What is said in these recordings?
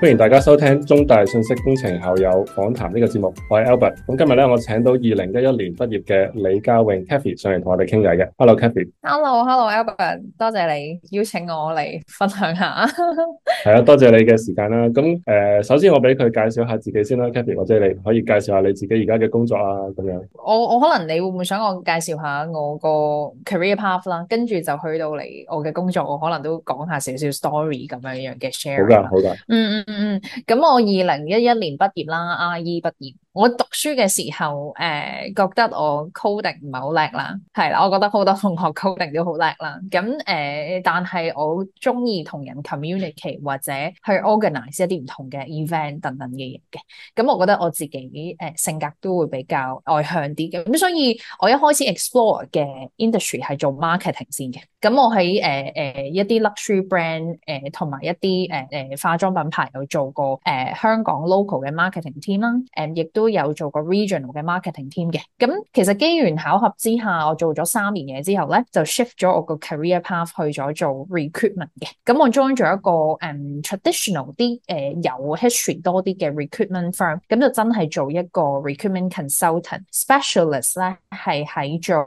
歡迎大家收聽中大信息工程校友訪談呢個節目，我係 Albert。咁今日咧，我請到2011年畢業嘅李家穎 Kathy 上嚟同我哋傾偈嘅。Hello Kathy。Hello Albert，多謝你邀請我嚟分享下。 係啊，多謝你嘅時間啦。咁首先我俾佢介紹下自己先啦，Kathy，或者你可以介紹下你自己而家嘅工作啊，咁樣。 我可能你會唔會想我介紹下我個 career path 啦，跟住就去到嚟我嘅工作，我可能都講下少少 story 咁樣樣嘅 share。 好噶。 咁我2011年畢業啦，IE 畢業。我讀書嘅時候，覺得我 coding 唔係好叻啦，係啦，我覺得好多同學 coding 都好叻啦。咁但係我中意同人 communicate 或者去 organize 一啲唔同嘅 event 等等嘅嘢嘅。咁我覺得我自己性格都會比較外向啲嘅。咁所以我一開始 explore 嘅 industry 係做 marketing 先嘅。咁我喺一啲 luxury brand 同埋一啲化妝品牌有做過香港 local 嘅 marketing team 啦，亦都有做過 regional 嘅 marketing team 嘅。咁其實機緣巧合之下，我做咗3年嘢之後咧，就 shift 咗我個 career path 去咗做 recruitment 嘅。咁我 join 咗一個traditional 啲有 history 多啲嘅 recruitment firm，咁就真係做一個 recruitment consultant specialist 咧，係喺做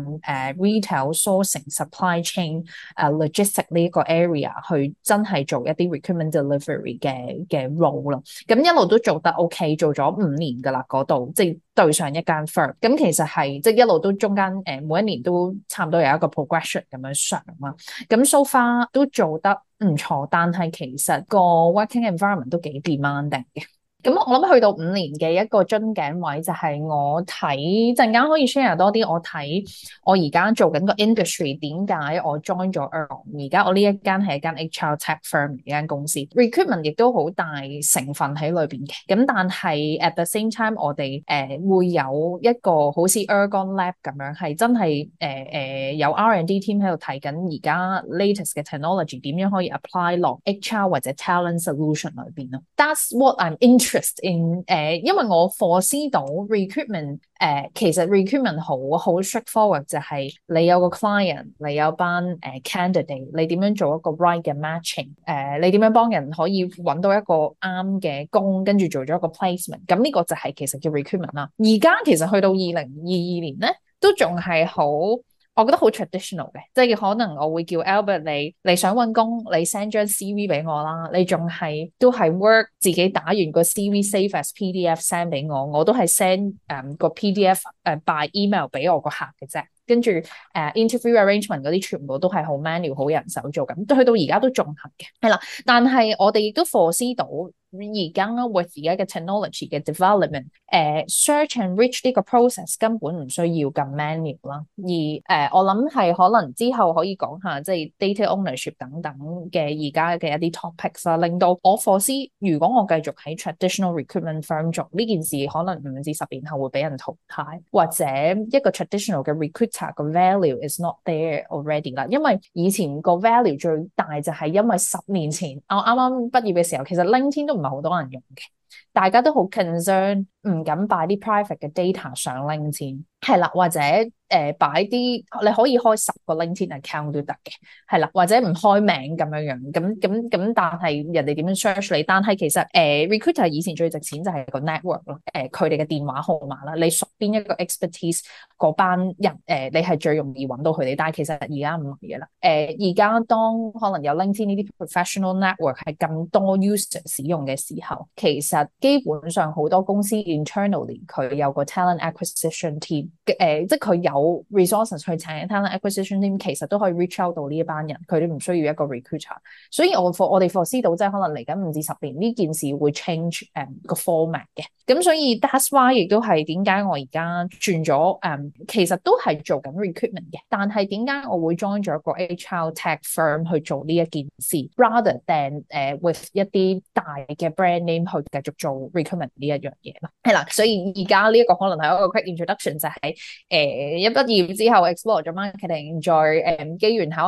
retail sourcing supply chain logistic 呢一個 area 去真係做一啲 recruitment delivery 嘅 role 咯。咁一路都做得 OK， 做咗5年噶啦嗰度，即係對上一間 firm。咁其實係即係一路都中間每一年都差唔多有一個 progression 咁樣上啦。咁 so far 都做得唔錯，但係其實個 working environment 都幾 demanding 嘅。咁我諗去到5年嘅一個樽頸位就係我睇陣間可以 share 多啲，我睇我而家做緊個 industry 點解我 join 咗 Earl， 而家我呢一間係一間 HR tech firm 嘅一間公司 recruitment 亦都好大成分喺裏邊嘅。咁但係 at the same time 我哋會有一個好似 Ergon Lab 咁樣係真係有 R&D team 喺度睇緊而家 latest 嘅 technology 點樣可以 apply 落 HR 或者 talent solution 裏邊咯。That's what I'm interested in 因為我 foresee 到 recruitment 其實 recruitment 好 straightforward， 就係你有個 client， 你有班candidate， 你點樣做一個 right 嘅 matching， 你點樣幫人可以揾到一個啱嘅工，跟住做咗一個 placement， 咁呢個就係其實叫 recruitment 啦。而家其實去到2022年咧，都仲係好，我覺得好 traditional 嘅，即係可能我會叫 Albert 你想揾工，你 send 張 CV 俾我啦，你仲係都係 Word 自己打完個 CV save as PDF send 俾我，我都係 send 個 PDF by email 俾我個客嘅啫。跟住interview arrangement 嗰啲全部都係好 manual 好人手做緊，去到而家都仲行嘅，係啦。但係我哋亦都 foresee 到而家 with 而家嘅 technology 嘅 development，search and reach 呢個 process 根本唔需要咁 manual 啦。而我諗係可能之後可以講下即係 data ownership 等等嘅而家嘅一啲 topics 啦，令到我 foresee 如果我繼續喺 traditional recruitment firm 做呢件事，可能5至10年後會俾人淘汰，或者一個 traditional 嘅 recruiter 個 value is not there already 啦。因為以前個 value 最大就係因為10年前我啱啱畢業嘅時候，其實 LinkedIn 都唔係好多人用嘅，大家都好 concern， 唔敢擺啲 private 嘅 data 上 LinkedIn， 係啦，或者擺啲你可以開10個 LinkedIn account 都得嘅，係啦，或者唔開名咁樣樣，咁但係人哋點樣 search 你？但係其實recruiter 以前最值錢就係個 network 咯，佢哋嘅電話號碼啦，你屬邊一個 expertise 嗰班人你係最容易揾到佢哋。但係其實而家唔係嘅啦，而家當可能有 LinkedIn 呢啲 professional network 係咁多 user 使用嘅時候，其實基本上好多公司 internally 佢有個 talent acquisition team，即係佢有 resources 去請 talent acquisition team， 其實都可以 reach out 到呢一班人，佢哋唔需要一個 recruiter。所以我哋 foresee 到即係可能嚟緊5至10年呢件事會 change 個 format 嘅。咁所以 that's why 亦都係點解我而家轉咗其實都係做緊 recruitment 嘅，但係點解我會 join 咗個 HR tech firm 去做呢一件事 rather than with 一啲大嘅 brand name 去繼續做 recruitment 呢一樣嘢咯。係啦，所以而家呢一個可能係一個 quick introduction， 就係一畢業之後 explore 咗 marketing， 再機緣巧合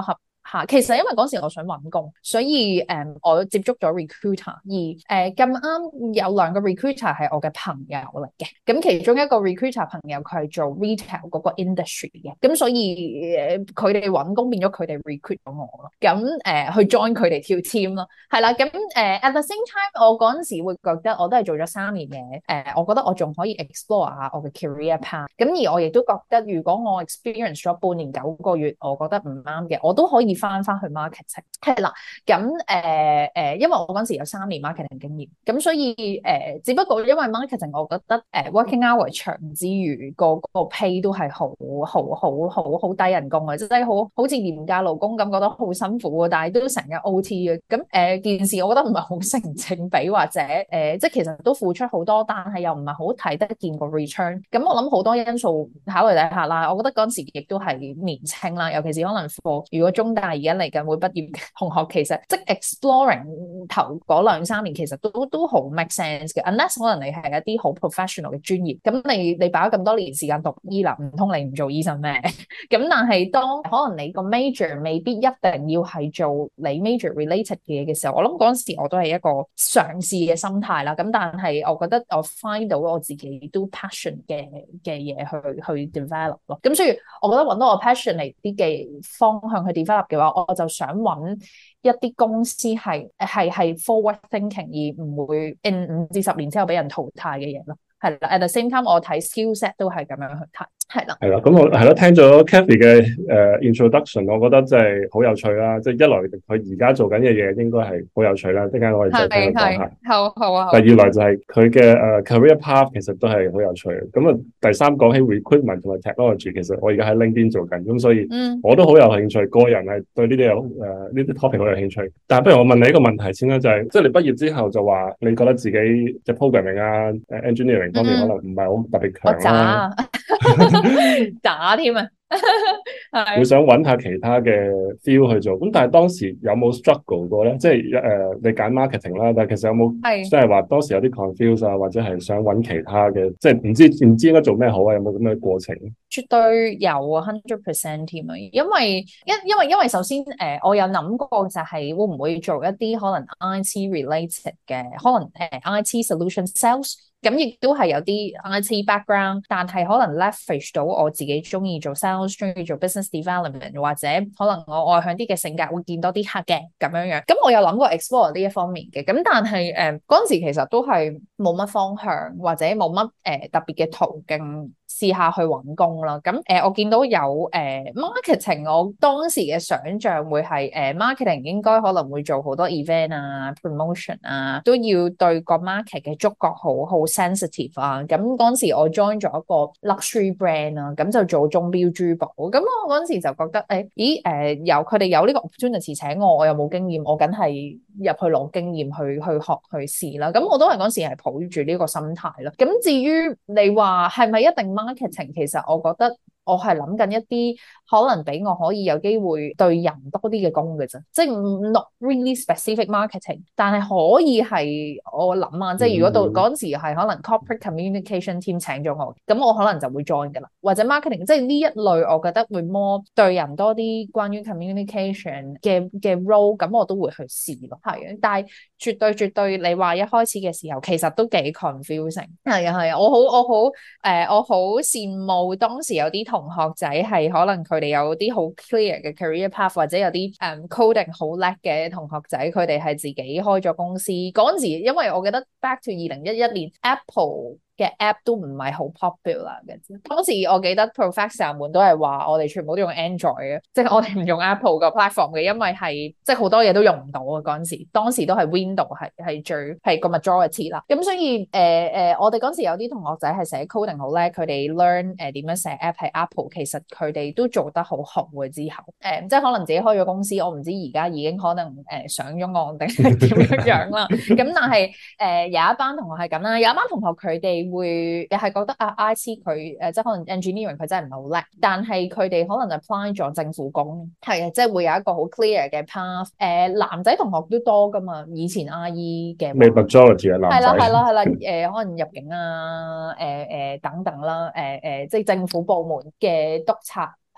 下。其實因為嗰時我想揾工，所以我接觸咗 recruiter，而咁啱有兩個 recruiter 係我嘅朋友嚟嘅。咁其中一個 recruiter 朋友佢係做 retail 嗰個 industry 嘅，咁所以佢哋揾工變咗佢哋 recruit 咗我咯。咁去 join 佢哋跳 team 咯，係啦。咁at the same time，我嗰陣時會覺得我都係做咗3年嘅，我覺得我仲可以 explore 下我嘅 career path。咁而我亦都覺得，如果我 experience 咗半年9個月，我覺得唔啱嘅，我都可以翻去 marketing。係啦，咁因為我嗰陣時有3年 marketing 經驗，咁所以只不過因為 marketing，我覺得working hour 長之餘，個 pay 都係好低人工嘅，即係好似廉價勞工咁，覺得好辛苦，但係都成日 OT 嘅。咁件事我覺得唔係好成正比，或者即係其實都付出好多，但係又唔係好睇得見個 return。咁我諗好多因素考慮底下啦，我覺得嗰陣時亦都係年青啦，尤其是可能如果中大而家嚟緊會畢業嘅同學，其實即係 exploring 頭嗰2-3年，其實都好 make sense 嘅。unless 可能你係一啲好 professional 嘅專業，咁你擺咗咁多年時間讀醫啦，唔通你唔做醫生咩？咁但係當可能你個 major 未必一定要係做你 major related 嘅嘢嘅時候，我諗嗰陣時我都係一個嘗試嘅心態啦。咁但係我覺得我 find 到我自己都 passion 嘅嘢去 develop 咯。咁所以我覺得揾到我 passion 嚟啲嘅方向去 develop 嘅話，我就想揾一啲公司係 forward thinking， 而唔會 in 5至10年之後俾人淘汰嘅嘢咯。係啦 ，at the same time 我睇 skill set 都係咁樣去睇。係啦， 咁我係咯，聽咗 Kathy 嘅introduction， 我覺得真係好有趣啦。即係一來佢而家做緊嘅嘢應該係好有趣啦，陣間我哋再聽佢講下。 好啊。 第二來就係佢嘅career path 其實都係好有趣。咁第三講起 recruitment 同埋 technology， 其實我而家喺 LinkedIn 做緊，咁所以我都好有興趣。個人係對呢啲 topic 好有興趣。但係不如我問你一個問題先啦，就係即係你畢業之後就話你覺得自己即係 programming 啊、engineering 方面可能唔係好特別強啦。 打添啊！ 會想揾下其他嘅 feel 去做，咁但係當時有冇 struggle 過咧？即係你揀 marketing 啦，但係其實有冇即係話當時有啲 confuse 啊，或者係想揾其他嘅，即係唔知應該做咩好啊？有冇咁嘅過程？ 絕對有啊，100% 添啊！因為首先我有諗過就係會唔會做一啲可能 IT related 嘅，可能IT solution sales。咁亦都係有啲 IT background，但係可能 leverage 到我自己中意做 sales， 中意做 business development， 或者可能我外向啲嘅性格會見多啲客嘅咁樣樣。咁我有諗過 explore 呢一方面嘅，咁但係嗰陣時其實都係冇乜方向或者冇乜特別嘅途徑試下去揾工啦。咁我見到有marketing， 我當時嘅想像會係marketing 應該可能會做好多 event 啊 promotion 啊，都要對個 market 嘅觸覺好 sensitive 啊。咁嗰陣時我 join 咗一個 luxury brand 啊，咁就做鐘錶珠寶。咁我嗰陣時就覺得佢哋有呢個 opportunity 請我又冇經驗，我梗係入去攞經驗去學去試啦。咁我都係嗰陣時係抱住呢個心態啦。咁至於你話係咪一定 marketing， 其實我覺得我係諗緊一啲可能俾我可以有機會對人多啲嘅工嘅啫，即係 not really specific marketing， 但係可以係我諗啊，即係如果到嗰陣時係可能 corporate communication team 請咗我，咁我可能就會 join 噶啦，或者 marketing， 即係呢一類我覺得會 more 對人多啲關於 communication 嘅 role， 咁我都會去試咯，係啊，但係絕對你話一開始嘅時候其實都幾 confusing， 係啊，我好羨慕當時有啲同學仔係可能佢哋有啲好 clear 嘅 career path， 或者有啲coding 好叻嘅同學仔，佢哋係自己開咗公司嗰陣時，因為我記得 back to 2011年 Apple嘅 app 都唔係好 popular 嘅啫。當時我記得 professor 們都係話我哋全部都用 Android 嘅，即係我哋唔用 Apple 個 platform 嘅，因為係即係好多嘢都用唔到啊。嗰陣時，當時都係 Windows 係個 majority 啦。咁所以我哋嗰陣時有啲同學仔係寫 coding 好叻，佢哋 learn 點樣寫 app 喺 Apple， 其實佢哋都做得好好嘅。之後即係可能自己開咗公司，我唔知而家已經可能上咗岸定係點樣啦。咁但係有一班同學係咁啦，有一班同學佢哋會係覺得IT 佢即係可能 engineering 佢真係唔係好叻，但係佢哋可能 apply 咗政府工，係啊，即係會有一個好 clear 嘅 path。男仔同學都多噶嘛，以前 IE 嘅 majority 嘅男仔係啦，可能入境啊等等啦，即係政府部門嘅督察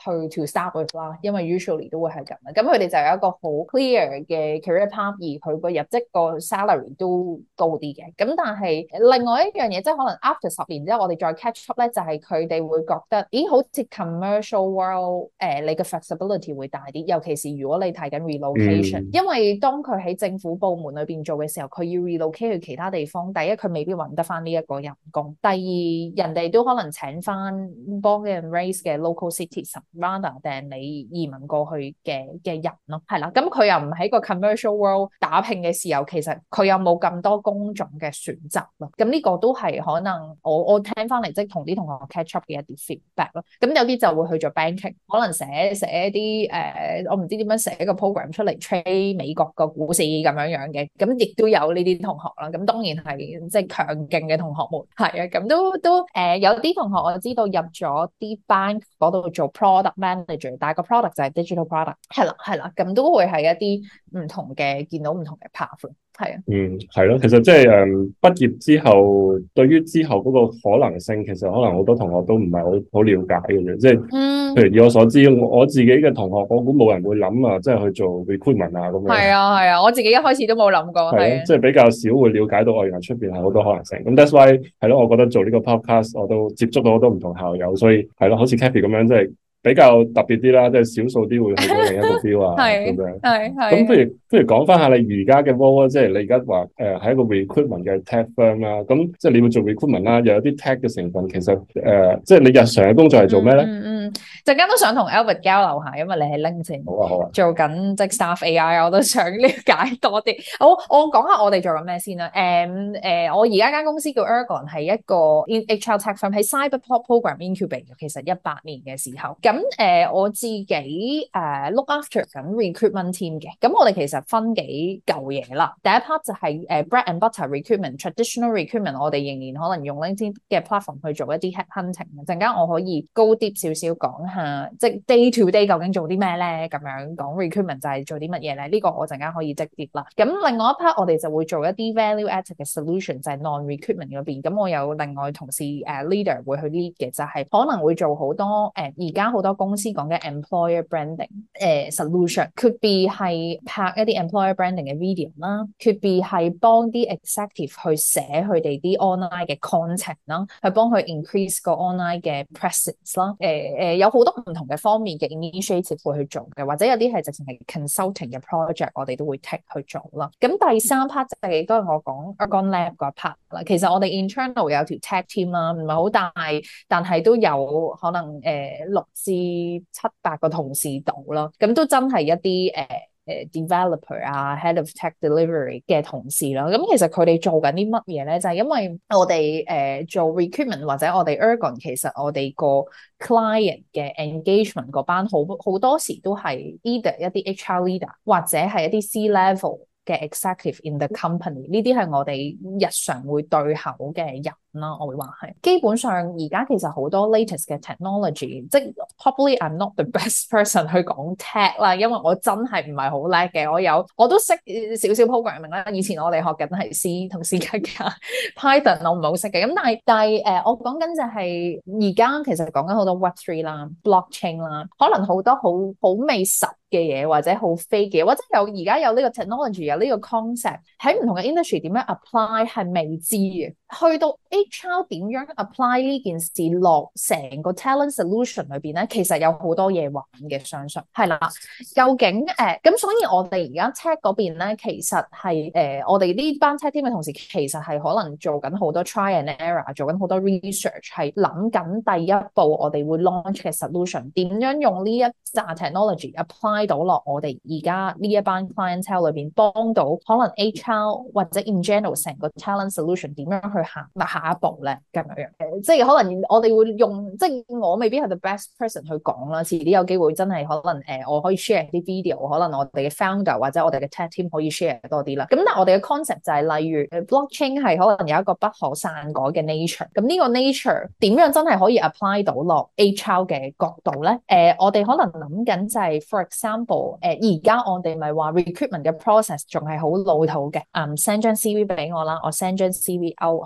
to start with 啦，因為 usually 都會係咁啦。咁佢哋就有一個好 clear 嘅 career path，而佢個入職個 salary 都高啲嘅。咁但係另外一樣嘢，即係可能 after 10年之後，我哋再 catch up 咧，就係佢哋會覺得，咦，好似 commercial world 你嘅 flexibility 會大啲，尤其是如果你睇緊 relocation，因為當佢喺政府部門裏邊做嘅時候，佢要 relocate 去其他地方，第一佢未必揾得翻呢一個人工，第二人哋都可能請翻 born and raised 嘅 local citizen rather than 你移民過去嘅人咯，係啦，咁佢又唔喺個 commercial world 打拼嘅時候，其實佢有冇咁多工種嘅選擇咯，咁呢個都係可能我聽翻嚟即係同啲同學 catch up 嘅一啲 feedback 咯，咁有啲就會去做 banking， 可能寫啲我唔知點樣寫一個 program 出嚟 trade 美國個股市咁樣嘅，咁亦都有呢啲同學啦，咁當然係即係強勁嘅同學們，係啊，咁都有啲同學我知道入咗啲 bank 嗰度做 product manager， 但係個 product 就係 digital product， 係啦，咁都會係一啲唔同嘅見到唔同嘅 path。係啊， 係咯，其實即係畢業之後，對於之後嗰個可能性，其實可能好多同學都唔係好了解嘅啫。即係，譬如以我所知，我自己嘅同學，我估冇人會諗啊，即係去做 recruitment 啊咁樣。係啊，我自己一開始都冇諗過。係即係比較少會了解到原來出邊係好多可能性。咁 that's why 係咯，我覺得做呢個 podcast 我都接觸到好多唔同校友，所以係咯，好似 Kathy 咁樣即係。比較特別啲啦，即係少數啲會去到另一個 field 啊，咁樣。咁不如講翻下你而家嘅 role，即係你而家話係一個 recruitment 嘅 tech firm 啦。咁即係你會做 recruitment 啦，又有啲 tech 嘅成分。其實即係你日常嘅工作係做咩咧？ 陣間都想同 Albert 交流下，因為你係 LinkedIn 好啊， 做緊即係 staff AI， 我都想了解多啲。好，我講下我哋做緊咩先啦。我而家間公司叫 Ergon， 係一個 HR tech firm， 喺 Cyberport Program Incubate 嘅，其實18年嘅時候。咁我自己look after 緊 recruitment team 嘅。咁我哋其實分幾嚿嘢啦。第一 part 就係bread and butter recruitment，traditional recruitment， 我哋仍然可能用 LinkedIn 嘅 platform 去做一啲 headhunting。陣間我可以高啲少少講下，即係 day to day 究竟做啲咩咧？咁樣講 recruitment 就係做啲乜嘢咧？呢個我陣間可以直接啦。咁另外一 part 我哋就會做一啲 value added 嘅 solution， 就係 non-recruitment 嗰邊。咁我有另外同事leader 會去 lead 嘅，就係可能會做好多而家好多公司講嘅 employer branding solution，could be 係拍一啲 employer branding 嘅 video 啦，could be 係幫啲 executive 去寫佢哋啲 online 嘅 content 啦，去幫佢 increase 個 online 嘅 presence 啦。有好多唔同嘅方面嘅 initiative 會去做嘅，或者有啲係直情係 consulting 嘅 project， 我哋都會 take 去做啦。咁第三 part 就係都係我講 Ergon Lab 嗰 part 啦。其實我哋 internal 有條 tech team 啦，唔係好大，但係都有可能6至7、8個同事度啦。咁都真係一啲developer 啊 ，head of tech delivery 嘅同事啦，咁其實佢哋做緊啲乜嘢咧？就係因為我哋做 recruitment 或者我哋 Ergon， 其實我哋個 client 嘅 engagement 嗰班好多時都係 either 一啲 HR leader 或者係一啲 C level 嘅 executive in the company， 呢啲係我哋日常會對口嘅人啦，我會話係。基本上而家其實好多 latest 嘅 technology， 即係 probably I'm not the best person 去講 tech 啦，因為我真係唔係好叻嘅。我都識少少 programming 啦，以前我哋學緊係 C 同 C 加加 Python， 我唔係好識嘅。咁但係我講緊就係而家其實講緊好多 Web3 啦 blockchain 啦，可能好多好未實嘅嘢，或者好飛嘅，或者而家有呢個 technology， 有呢個 concept 喺唔同嘅 industry 點樣 apply 係未知嘅。去到 HR 點樣 apply 呢件事落成個 talent solution 裏邊咧，其實有好多嘢玩嘅，相信係啦。究竟咁，所以我哋而家 tech 嗰邊咧，其實係我哋呢班 tech team 嘅同事，其實係可能做緊好多 try and error， 做緊好多 research， 係諗緊第一步我哋會 launch 嘅 solution， 點樣用呢一紮 technology apply 到落我哋而家呢一班 clientele 裏邊，幫到可能 HR 或者 in general 成個 talent solution 點樣去行下一步咧，咁樣即係可能我哋會用，即係我未必係 the best person 去講啦。遲啲有機會真係可能我可以 share 啲 video， 可能我哋嘅 founder 或者我哋嘅 tech team 可以 share 多啲啦。咁但係我哋嘅 concept 就係例如 blockchain 係可能有一個不可篡改嘅 nature。咁呢個 nature 點樣真係可以 apply 到落 HR 嘅角度咧？我哋可能諗緊就係 for example， 而家我哋咪話 recruitment 嘅 process 仲係好老土嘅，send 張 CV 俾我啦，我 send 張 CV out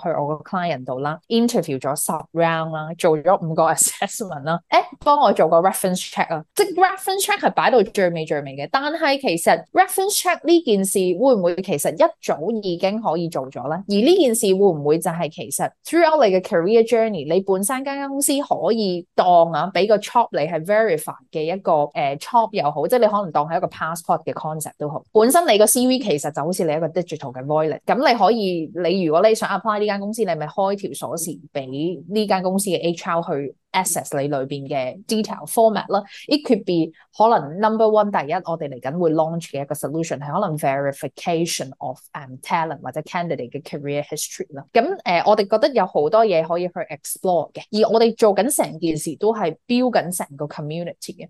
去我個 client 度啦 ，interview 咗10 round 啦，做咗5個 assessment 啦，幫我做個 reference check 啊，即係 reference check 係擺到最尾嘅，但係其實 reference check 呢件事會唔會其實一早已經可以做咗咧？而呢件事會唔會就係其實 throughout 你嘅 career journey， 你本身間公司可以當俾個 job 你係 verify 嘅一個job 又好，即係你可能當係一個 passport 嘅 concept 都好。本身你個 CV 其實就好似你一個 digital 嘅 wallet， 咁你可以，你如果你想 apply 呢間公司，你咪開條鎖匙俾呢間公司嘅 HR 去 access 你裏邊嘅 detail format 啦。It could be 可能 number one 第一，我哋嚟緊會 launch 嘅一個 solution 係可能 verification of talent 或者 candidate 嘅 career history 啦。咁我哋覺得有好多嘢可以去 explore 嘅，而我哋做緊成件事都係 build 緊成個 community 嘅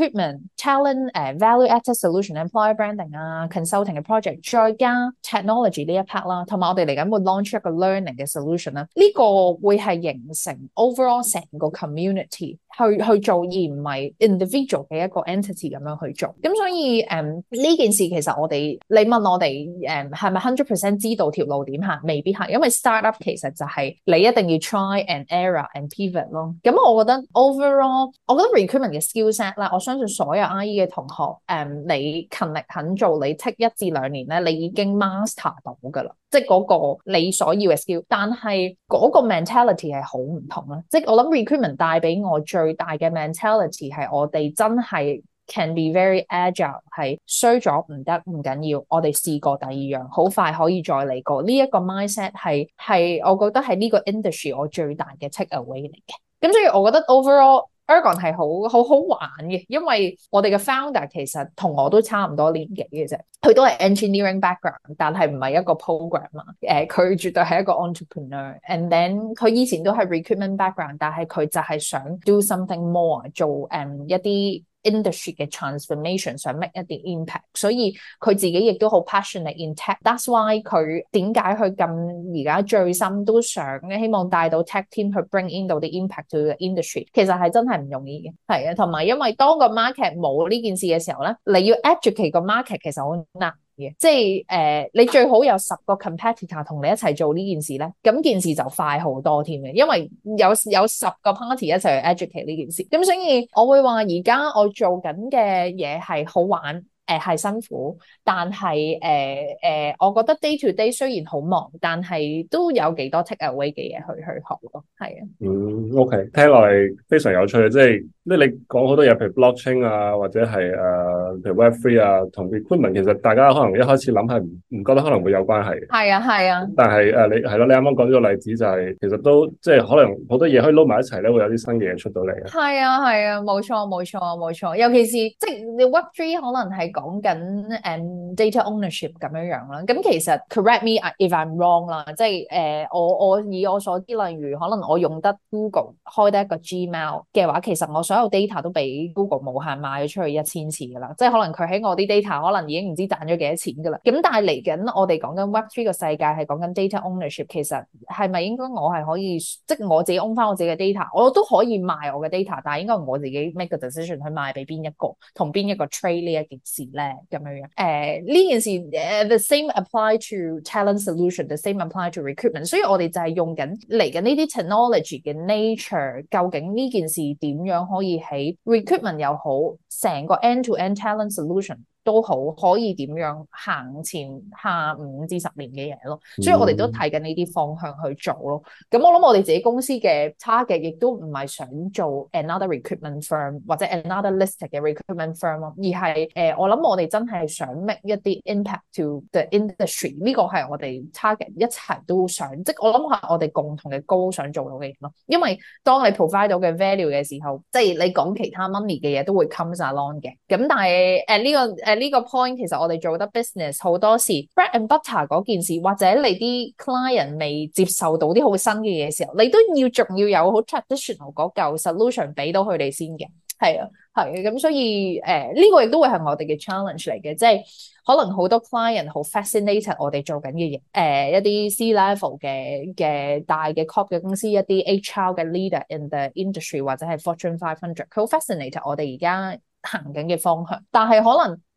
recruitment、talent、value-added solution、employer branding 啊、consulting 嘅 project， 再加 technology 呢一 part 啦，同埋我哋嚟緊會 launch 一個 learning 嘅 solution 啦。呢個會係形成 overall 成個 community 去做，而唔係 individual 嘅一個 entity 咁樣去做。咁所以呢件事其實我哋，你問我哋係咪 100% 知道條路點行？未必係，因為 startup 其實就係你一定要 try and error and pivot 咯。咁我覺得 overall， 我覺得 recruitment 嘅 skill set 啦，我相信所有 IE 嘅同學你勤力肯做，你 take 1至2年咧，你已經 master 到噶啦，即係嗰個你所要嘅 skill。但係嗰個 mentality 係好唔同啦，即係我諗 recruitment 帶俾我最大嘅 mentality 係我哋真係 can be very agile， 係衰咗唔得唔緊要，我哋試過第2樣，好快可以再嚟過。呢一個 mindset 係我覺得係呢個 industry 我最大嘅 take away 嚟嘅。咁所以我覺得 overall Ergon 係好玩嘅，因為我哋嘅 founder 其實同我都差唔多年紀嘅啫，佢都係 engineering background， 但係唔係一個 programmer， 佢絕對係一個 entrepreneur，and then 佢以前都係 recruitment background， 但係佢就係想 do something more， 做一啲industry 嘅 transformation， 想 make 一啲 impact， 所以佢自己亦都好 passionate in tech。That's why 佢點解佢咁而家最深都想希望帶到 tech team 去 bring in 到啲 impact to the industry， 其實係真係唔容易嘅。係啊，同埋因為當個 market 冇呢件事嘅時候咧，你要 educate 個 market 其實好難嘅，即係你最好有10個 competitor 同你一齊做呢件事咧，咁件事就快好多添嘅，因為有10個 party 一齊去 educate 呢件事。咁所以我會話而家我做緊嘅嘢係好玩，係辛苦，但係我覺得 day to day 雖然好忙，但係都有幾多 take away 嘅嘢去學咯。係啊 ，OK， 聽落嚟非常有趣嘅，即係你講好多嘢，譬如 blockchain 啊，或者係譬如 Web3 啊，同 recruitment 其實大家可能一開始諗係唔覺得可能會有關係。係啊，但係你係咯，你啱啱講咗個例子就係其實都即係可能好多嘢可以撈埋一齊咧，會有啲新嘅嘢出到嚟。係啊，冇錯，尤其是即係你 Web3 可能係講緊data ownership 咁樣啦。咁其實 correct me if I'm wrong 啦，即係我以我所知，例如可能我用得 Google 開得一個 Gmail 嘅話，其實我所有 data 都俾 Google 無限賣咗出去1000次噶啦，即係可能佢喺我啲 data 可能已經唔知賺咗幾多錢噶啦。咁但係嚟緊我哋講緊 Web3 個世界係講緊 data ownership， 其實係咪應該我係可以即係我自己 own 翻我自己嘅 data， 我都可以賣我嘅 data， 但係應該我自己 make 個 decision 去賣俾邊一個同邊一個 trade 呢一件事咧，咁樣呢件事the same apply to talent solution，the same apply to recruitment， 所以我哋就係用緊嚟緊呢啲 technology 嘅 nature， 究竟呢件事點樣可以喺 recruitment 又好，成個 end-to-end talent solution 都好，可以點樣行前下5至10年嘅嘢咯，所以我哋都睇緊呢啲方向去做咯。咁我諗我哋自己公司嘅 target 亦都唔係想做 another recruitment firm 或者 another listed 嘅 recruitment firm 咯，而係我諗我哋真係想 make 一啲 impact to the industry， 呢個係我哋 target 一齊都想，即係我諗係我哋共同嘅 goal 想做到嘅嘢咯。因為當你 provide 到嘅 value 嘅時候，即係你講其他 money 嘅嘢都會 comes along 嘅。咁但係呢個 point 其實我哋做得 business 好多時 bread and butter 嗰件事，或者你啲 client 未接受到啲好新嘅嘢嘅時候，你都仲要有好 traditional 嗰嚿 solution 俾到佢哋先嘅。係啊，咁所以呢個亦都會係我哋嘅 challenge 嚟嘅，即係可能好多 client 好 fascinated 我哋做緊嘅嘢，一啲 C level 嘅大嘅 corp 嘅公司，一啲 HR 嘅 leader in the industry 或者係 Fortune 500，佢好 fascinated 我哋而家行緊嘅方向，但係可能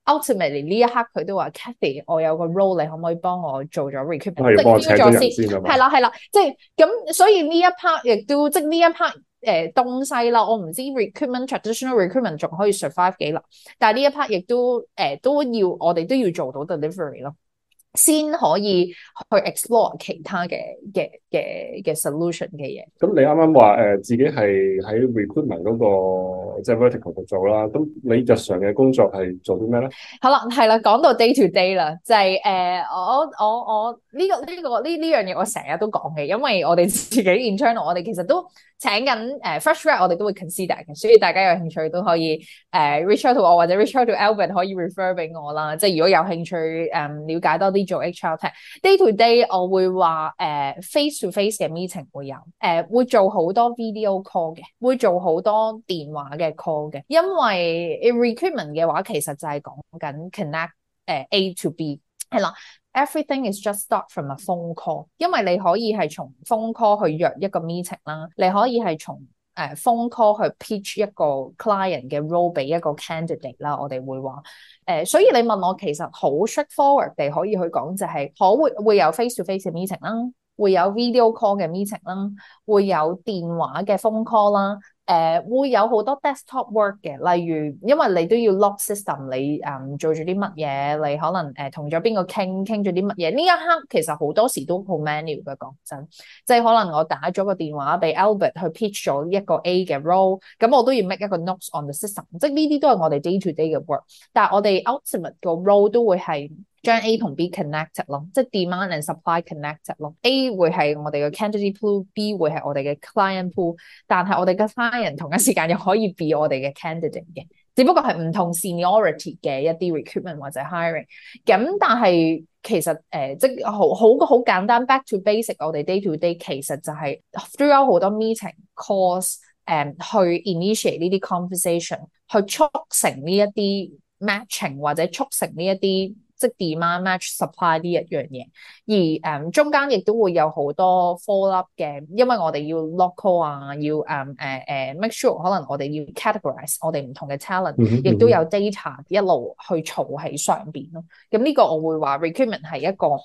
ultimately 呢一刻佢都話 Kathy 我有個 role 你可唔可以幫我做咗 recruitment， 即係幫我請咗人先啊嘛。 係啦，即係咁所以呢一 part 亦都即係呢一 part東西啦，我唔知 traditional recruitment 仲可以 survive 幾耐，但係呢一 part 亦都都要我哋都要做到 delivery 咯，先可以去 explore 其他嘅 solution 嘅嘢。 咁你啱啱話自己係喺 recruitment 嗰個即係 vertical 度做啦，咁你日常嘅工作係做啲咩咧？ 好啦，係啦，講到 day to day 啦，就係我呢樣嘢我成日都講嘅，因為我哋自己 internal 我哋其實都請緊fresh grad 我哋都會 consider 嘅，所以大家有興趣都可以reach out to 我或者 reach out to Albert 可以 refer 俾我啦。即係如果有興趣了解多啲做 HR tech day to day， 我會話face to face 嘅 meeting 會有會做好多 video call 嘅，會做好多電話嘅 call 嘅，因為 recruitment 嘅話其實就係講緊 connect A to B 係啦。Everything is just start from a phone call， 因為你可以係從 phone call 去約一個 meeting 啦，你可以係從phone call 去 pitch 一個 client 嘅 role 俾一個 candidate 啦，我哋會話所以你問我其實好 straightforward 地可以去講就係會有 face to face 嘅 meeting 啦，會有 video call 嘅 meeting 啦，會有電話嘅 phone call 啦。會有好多 desktop work 嘅，例如因為你都要 log system， 你做咗啲乜嘢，你可能同咗邊個傾咗啲乜嘢，呢一刻其實好多時都好 manual 嘅，講真，即係可能我打咗個電話俾 Albert 去 pitch 咗一個 A 嘅 role， 咁我都要 make 一個 notes on the system， 即係呢啲都係我哋 day to day 嘅 work， 但係我哋 ultimate 個 role 都會係將 A 同 B connected 咯，即係 demand and supply connected 咯。A 會係我哋嘅 candidate pool，B 會係我哋嘅 client pool， 但係我哋嘅 client 同一時間又可以 be 我哋嘅 candidate 嘅，只不過係唔同 seniority 嘅一啲 recruitment 或者 hiring。咁但係其實即係好簡單 back to basic， 我哋 day to day 其實就係 throughout 好多 meeting calls，去 initiate 呢啲 conversation， 去促成呢一啲 matching 或者促成呢一啲即 demand match supply 呢一樣嘢，而中間亦都會有好多 follow up 嘅，因為我哋要 lock call 啊，要make sure 可能我哋要 categorize 我哋唔同嘅 talent， 亦都有 data 一路去儲喺上邊咯。咁呢個我會話 recruitment 係一個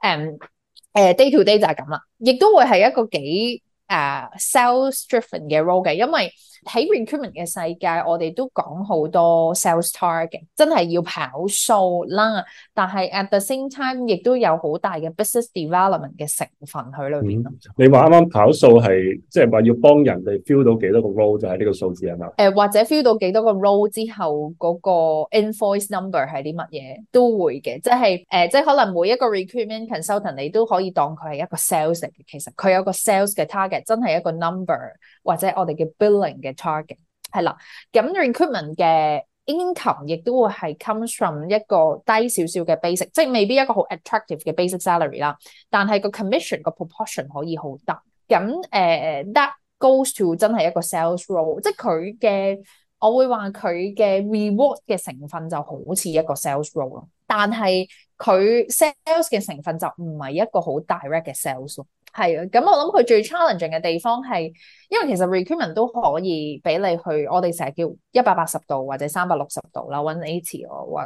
day to day 就係咁啦，亦都會係一個幾sales driven 嘅 role 嘅，因為喺 recruitment 嘅世界，我哋都講好多 sales target， 真係要跑數啦。但係 at the same time， 亦都有好大嘅 business development 嘅成分喺裏邊咯。 你話啱啱跑數係即係話要幫人哋 fill 到幾多個 role 就係呢個數字係嘛？或者 fill 到幾多個 role 之後嗰個 invoice number 係啲乜嘢都會嘅，即係即係可能每一個 recruitment consultant 你都可以當佢係一個 sales 嚟嘅，其實佢有個 sales 嘅 target， 真係一個 number 或者我哋嘅 billing 嘅 target 係啦。咁 recruitment 嘅 income 亦都會係 comes from 一個低少少嘅 basic， 即係未必一個好 attractive 嘅 basic salary 啦，但係個 commission 個 proportion 可以好大。咁that goes to 真係一個 sales role， 即係佢嘅我會話佢嘅 reward 嘅成分就好似一個 sales role 咯，但係佢 sales 嘅成分就唔係一個好 direct 嘅 sales 咯。係啊，咁我諗佢最 challenging 嘅地方係，因為其實 recruitment 都可以俾你去，我哋成日叫180度或者360度啦，180或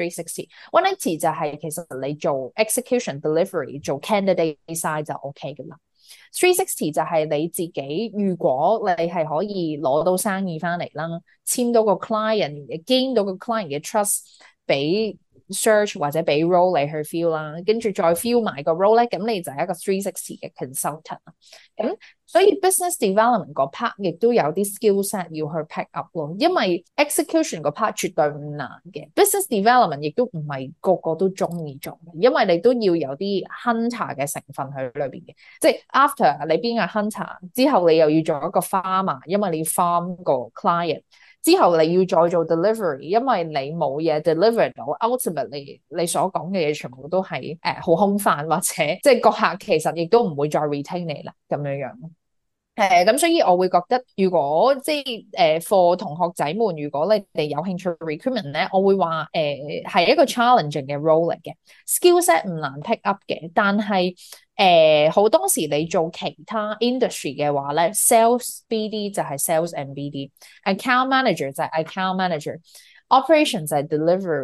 360。180就係其實你做 execution delivery 做 candidate side 就 OK 噶啦。360就係你自己，如果你係可以攞到生意翻嚟啦，簽到個 client，gain 到個 client 嘅 trust， 俾 search 或者俾 role 你去 fill 啦，跟住再 fill 埋個 role 咧，咁你就係一個360嘅 consultant 啦。咁所以 business development 個 part 亦都有啲 skill set 要去 pick up 咯，因為 execution 個 part 絕對唔難嘅 business development 亦都唔係個個都中意做嘅，因為你都要有啲 hunter 嘅成分喺裏邊嘅，即係 after 你邊個 hunter 之後，你又要做一個 farmer， 因為你要 farm 個 client。之後你要再做 delivery， 因為你冇嘢 deliver 到 ，ultimately 你所講嘅嘢全部都係好空泛，或者即係個客其實亦都唔會再 retain 你啦咁樣樣。咁所以我會覺得，如果即係for 同學仔們，如果你哋有興趣 recruitment 咧，我會話係一個 challenging 嘅 role 嚟嘅 skill set 唔難 pick up 嘅，但係好多時你做其他 industry 嘅話咧 ，sales BD 就係 sales and BD，account manager 就係 account manager，operation 就係 delivery。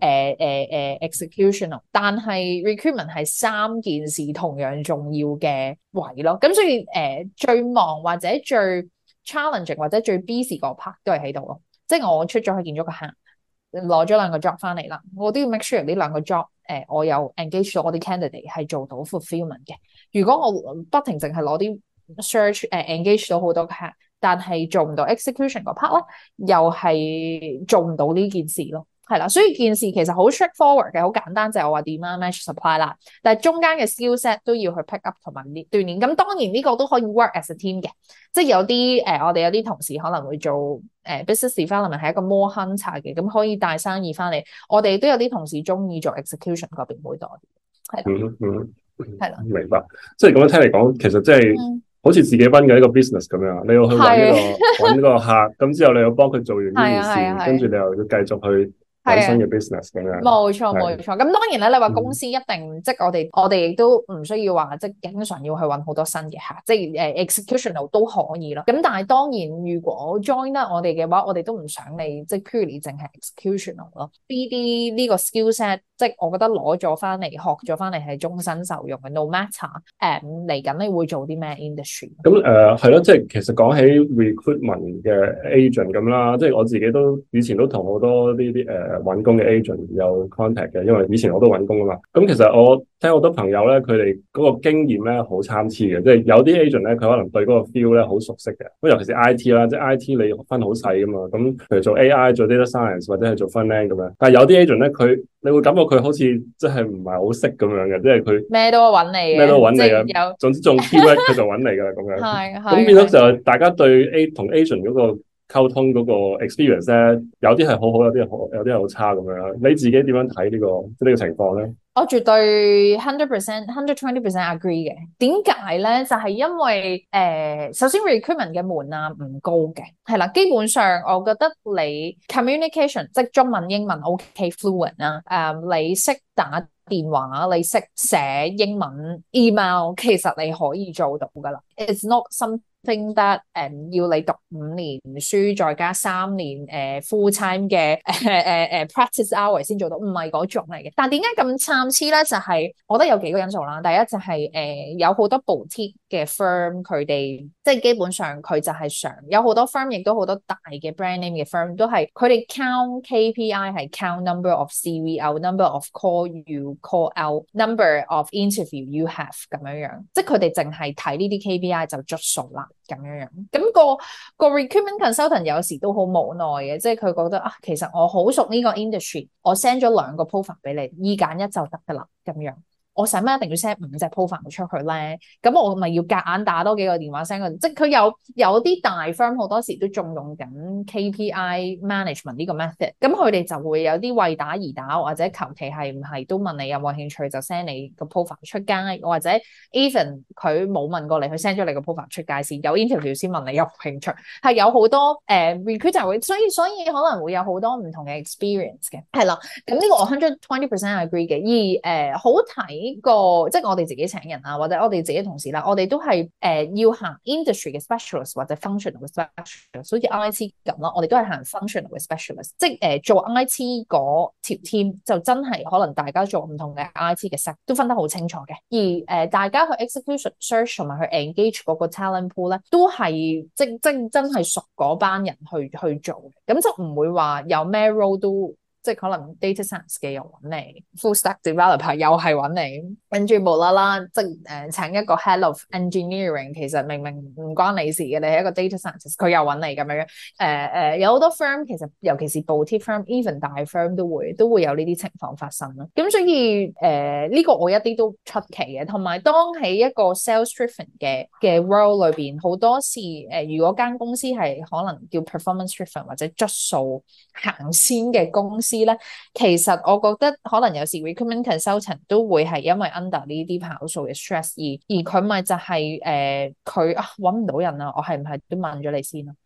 executional，但係 recruitment 係三件事同樣重要嘅位咯。咁所以最忙或者最 challenging 或者最 busy 個 part 都係喺度咯。即係我出咗去見咗個客，攞咗兩個 job 翻嚟啦，我都要 make sure 呢兩個 job 我有 engage 到我啲 candidate 係做到 fulfillment 嘅。如果我不停淨係攞啲 search engage 到好多客，但係做唔到 execution 個 part 咧，又係做唔到呢件事咯。係啦，所以件事其實好 straightforward 嘅，好簡單，就係我話 demand match supply 啦。但係中間嘅 skill set 都要去 pick up 同埋鍛鍊。咁當然呢個都可以 work as a team 嘅，即係有啲我哋有啲同事可能會做business development 係一個 more hunter 嘅，咁可以帶生意翻嚟。我哋都有啲同事中意做 execution 嗰邊會多啲。係啦，係啦， 明白。即係咁樣聽嚟講，其實即係好似自己揾嘅一個 business 咁樣，你要去揾呢個客，咁之後你要幫佢做完呢件事，跟住你又要繼續去揾新嘅 business 咁樣。 冇錯冇錯。咁當然咧，你話公司一定即係我哋亦都唔需要話即係經常要去揾好多新嘅客，即係executional 都可以咯。咁但係當然，如果 join 得我哋嘅話，我哋都唔想你即係 purely 淨係 executional 咯。BD 呢個 skill set， 即係我覺得攞咗翻嚟學咗翻嚟係終身受用嘅。No matter 嚟緊你會做啲咩 industry？ 咁係咯，即係其實講起 recruitment 嘅 agent 咁啦，即係我自己都以前都同好多呢啲揾工嘅 agent 有 contact 嘅，因為以前我都揾工啊嘛。咁其實我聽好多朋友咧，佢哋嗰個經驗咧好參差嘅，即係有啲 agent 咧，佢可能對嗰個 feel 咧好熟悉嘅。咁尤其是 IT 啦，即係 IT 你分好細噶嘛。咁譬如做 AI、做 data science 或者係做 front-end 咁樣。但係有啲 agent 咧，你會感覺佢好似即係唔係好識咁樣嘅，即係佢咩都揾你嘅，總之中 keyword 佢就揾你噶啦咁樣。係咁變咗就大家對同 agent 嗰個溝通嗰個 experience 咧，有啲係好好，有啲係好差咁樣。你自己點樣睇呢個情況咧？ 我絕對100%、120% agree 嘅。點解咧？就係因為首先 recruitment 嘅門檻唔高嘅，係啦。基本上我覺得你 communication 即係中文英文 OK fluent 啦。你識打電話，你識寫英文 email， 其實你可以做到噶啦。It's not something that 要你讀5年書再加3年full time 嘅practice hour 先做到，唔係嗰種嚟嘅。但點解咁參差咧？就係我覺得有幾個因素啦。第一就係有好多 boutique 嘅 firm， 佢哋即係基本上佢就係想有好多 firm， 亦都好多大嘅 brand name 嘅 firm 都係佢哋 count KPI 係 count number of CV out，number of call you call out，number of interview you have 咁樣樣，即係佢哋淨係睇呢啲 KPI 就捽數啦咁樣樣。咁個 recruitment consultant 有時都好無奈嘅，即係佢覺得啊，其實我好熟呢個 industry， 我 send 咗2個 profile 俾你，2揀1就得噶啦咁樣。我使乜一定要 send 5隻 profile 出去咧？咁我咪要夾硬打多幾個電話 send 佢，即係佢有啲大 firm 好多時都仲用緊 KPI management 呢個 method， 咁佢哋就會有啲為打而打，或者求其係唔係都問你有冇興趣就 send 你個 profile 出街，或者 even 佢冇問過你，佢 send 咗你個 profile 出街先，有 interview 先問你有冇興趣，係有好多recruiter 會，所以可能會有好多唔同嘅 experience 嘅，係啦。咁呢個我120% agree 嘅，而好睇。即係我哋自己請人啊，或者我哋自己同事啦，我哋都係要行 industry 嘅 specialist 或者 functional 嘅 specialist， 好似 IT 咁咯，我哋都係行 functional 嘅 specialist， 即係做 IT 嗰條 team 就真係可能大家做唔同嘅 IT 嘅 set 都分得好清楚嘅，而大家去 execution search 同埋去 engage 嗰個 talent pool 咧，都係即真係熟嗰班人去做嘅，咁就唔會話有咩 role 都。即係可能 data science 嘅又揾你 ，full stack developer 又係揾你，跟住無啦啦即係請一個 head of engineering， 其實明明唔關你事嘅，你係一個 data scientist， 佢又揾你咁樣。有好多 firm 其實尤其是 boutique firm，even 大 firm 都會有呢啲情況發生咯。咁所以呢個我一啲都出奇嘅。同埋當喺一個 sales driven 嘅 role 裏邊，好多時如果間公司係可能叫 performance driven 或者質素行先嘅公司。其實我覺得可能有時 recruitment consultant 都會係因為 under 呢啲跑數嘅 stress 而佢咪就係佢揾唔到人啊，我係唔係都問咗你先咯？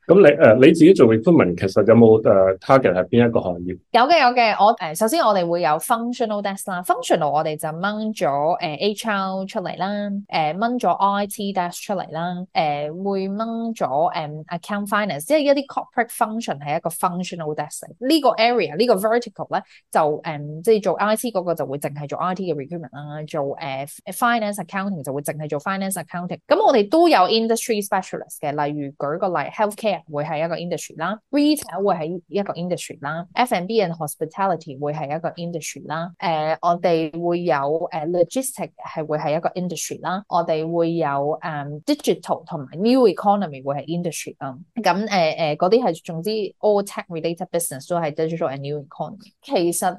咁你自己做 recruitment 其實有冇target 係邊一個行業？ 有嘅，我首先我哋會有 functional desk 啦，functional 我哋就掹咗HR 出嚟啦，掹咗 IT desk 出嚟啦，會掹咗account finance，即係一啲 corporate function 係一個 functional desk。呢個 area 呢個 vertical 咧就即係做 IT 嗰個就會淨係做 IT 嘅 recruitment 啦，做finance accounting 就會淨係做 finance accounting。咁我哋都有 industry specialist 嘅，例如舉個例 healthcare 會係一個 industry 啦 ，retail 會係一個 industry 啦 ，F&B and hospitality 會係一個 industry 啦，我哋會有logistic 係會係一個 industry 啦，我哋會有digital 同埋 new economy 會係 industry 啦，咁嗰啲係總之 all tech related business 都係 digital and new economy。其實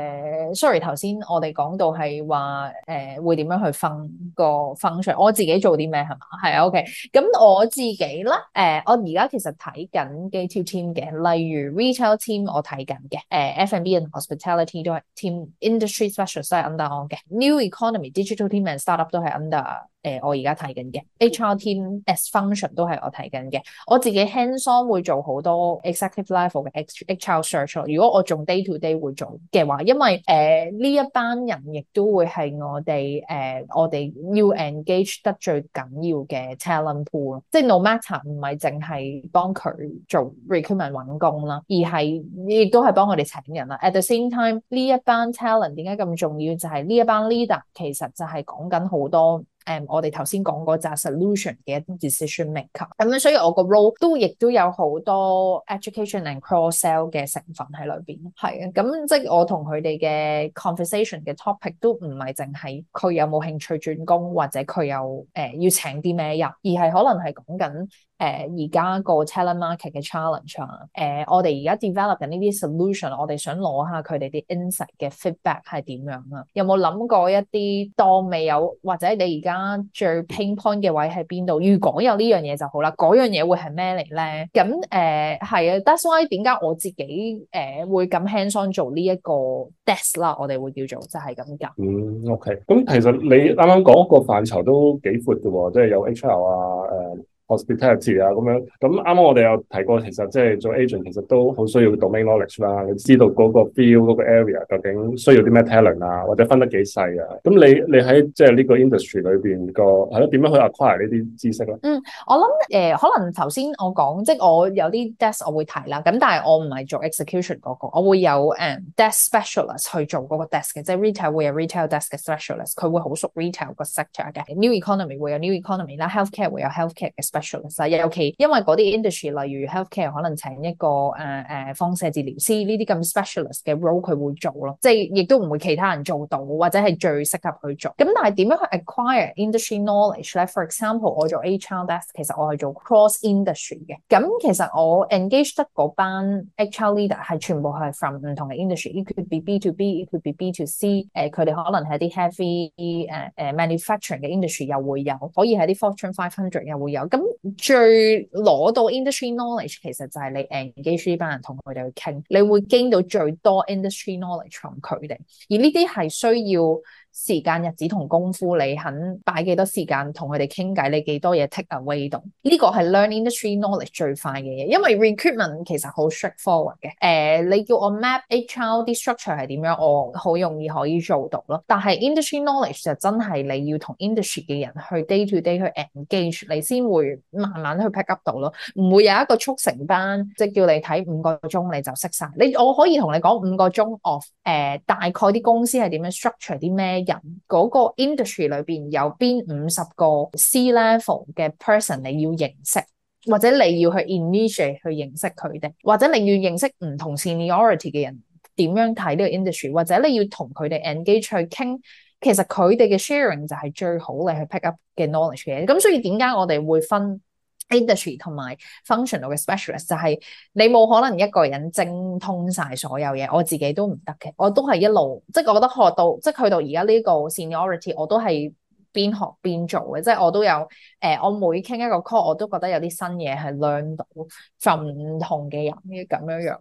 sorry 頭先我哋講到係話會點樣去分個 function，我自己做啲咩係嘛？係啊 OK，咁我自己咧我而家其實睇緊幾條 team 嘅，例如 retail team 我睇緊嘅，F&B and hospitality 都係 team，industry specialist 都係 under 我嘅，new economy digital team and startup 都係 under我而家睇緊嘅 HR team as function 都係我睇緊嘅，我自己 hands on 會做好多 executive level 嘅 HR search。如果我仲 day to day 會做嘅話，因為呢一班人亦都會係我哋要 engage 得最緊要嘅 talent pool， 即係 no matter 唔係淨係幫佢做 recruitment 揾工啦，而係亦都係幫佢哋請人啦。At the same time 呢一班 talent 點解咁重要？就係呢一班 leader 其實就係講緊好多。我哋頭先講嗰紮 solution 嘅一啲 decision maker，咁樣所以我個 role 亦都有好多 education and cross sell 嘅成分喺裏邊，係啊，咁即係我同佢哋嘅 conversation 嘅 topic 都唔係淨係佢有冇興趣轉工，或者佢有要請啲咩人，而係可能係講緊而家個 talent market 嘅 challenge 啊，我哋而家 develop 緊呢啲 solution， 我哋想攞下佢哋啲 insight 嘅 feedback 係點樣啊？有冇諗過一啲當未有，或者你而家最 pain point 嘅位喺邊度？如果有呢樣嘢就好啦，嗰樣嘢會係咩嚟咧？咁係啊 ，that's why 點解我自己會咁 hands on 做呢一個 desk 啦，我哋會叫做就係咁㗎。 OK，咁其實你啱啱講個範疇都幾闊嘅喎，即係有 HR 啊，hospitality 啊咁樣，咁啱啱我哋有提過，其實即係做 agent 其實都好需要 domain knowledge 啦，你知道嗰個 field 嗰個 area 究竟需要啲咩 talent 啊，或者分得幾細啊？咁你喺即係呢個 industry 裏邊個係咯，點樣去 acquire 呢啲知識咧？ 我諗可能頭先我講，即係我有啲 desk 我會提啦，咁但係我唔係做 execution 嗰個，我會有desk specialist 去做嗰個 desk 嘅，即係 retail 會有 retail desk 嘅 specialist，佢會好熟 retail 個 sector 嘅，new economy 會有 new economy 啦，healthcare 會有 healthcare 嘅 specialist，尤其因為嗰啲 industry 例如 healthcare 可能請一個放射治療師呢啲咁 specialist 嘅 role 佢會做咯，即係亦都唔會其他人做到，或者係最適合去做。咁但係點樣去 acquire industry knowledge 咧？For example， 我做 HR desk， 其實我係做 cross industry 嘅。咁其實我 engage 得嗰班 HR leader 係全部係 from 唔同嘅 industry，it could be B to B，it could be B to C。佢哋可能係啲 heavy manufacturing 嘅 industry 又會有，可以係啲 Fortune 500又會有。咁最攞到 industry knowledge 其實就係你 engage 呢班人同佢哋去傾，你會 gain 到最多 industry knowledge from 佢哋，而呢啲係需要時間、日子同功夫，你肯擺幾多時間同佢哋傾偈，你幾多嘢 take away 到，呢個係 learn industry knowledge 最快嘅嘢，因為 recruitment 其實好 straightforward 嘅。你叫我 map HR 啲 structure 係點樣，我好容易可以做到咯。但係 industry knowledge 就真係你要同 industry 嘅人去 day to day 去 engage，你先會慢慢去 pick up 到咯。唔會有一個速成班，即係叫你睇5個鐘你就識晒。我可以同你講5個鐘 of 大概啲公司係點樣 structure 啲咩人，嗰個 industry 裏邊有邊50個 C level 嘅 person 你要認識，或者你要去 initiate 去認識佢哋，或者你要認識唔同 seniority 嘅人點樣睇呢個 industry， 或者你要同佢哋 engage 去傾，其實佢哋嘅 sharing 就係最好你去 pick up 嘅 knowledge 嘅。咁所以點解我哋會分 industry 同埋 functional 嘅 specialist， 就係你冇可能一個人精通晒所有嘢，我自己都唔得嘅，我都係一路，即係我覺得學到，即係去到而家呢個 seniority， 我都係邊學邊做嘅，即係我都有我每傾一個 call， 我都覺得有啲新嘢係 learn 到from唔同嘅人嘅咁樣樣咯。